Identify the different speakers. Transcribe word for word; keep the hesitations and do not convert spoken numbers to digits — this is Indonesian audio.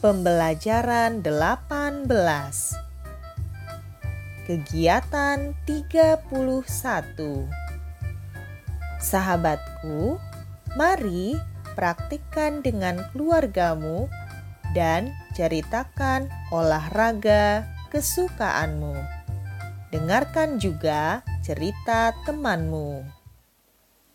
Speaker 1: Pembelajaran delapan belas. Kegiatan tiga puluh satu. Sahabatku, mari praktikkan dengan keluargamu dan ceritakan olahraga kesukaanmu. Dengarkan juga cerita temanmu.